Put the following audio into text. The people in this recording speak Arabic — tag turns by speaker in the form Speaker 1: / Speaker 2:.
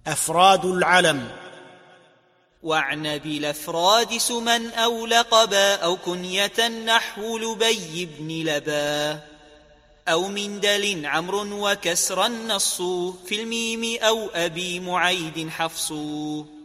Speaker 1: أفراد العلم.
Speaker 2: واعن بالأفراد سما أو لقبا أو كنية نحو لبي بن لبا أو من دل عمرو وكسر النص في الميم أو أبي معيد حفص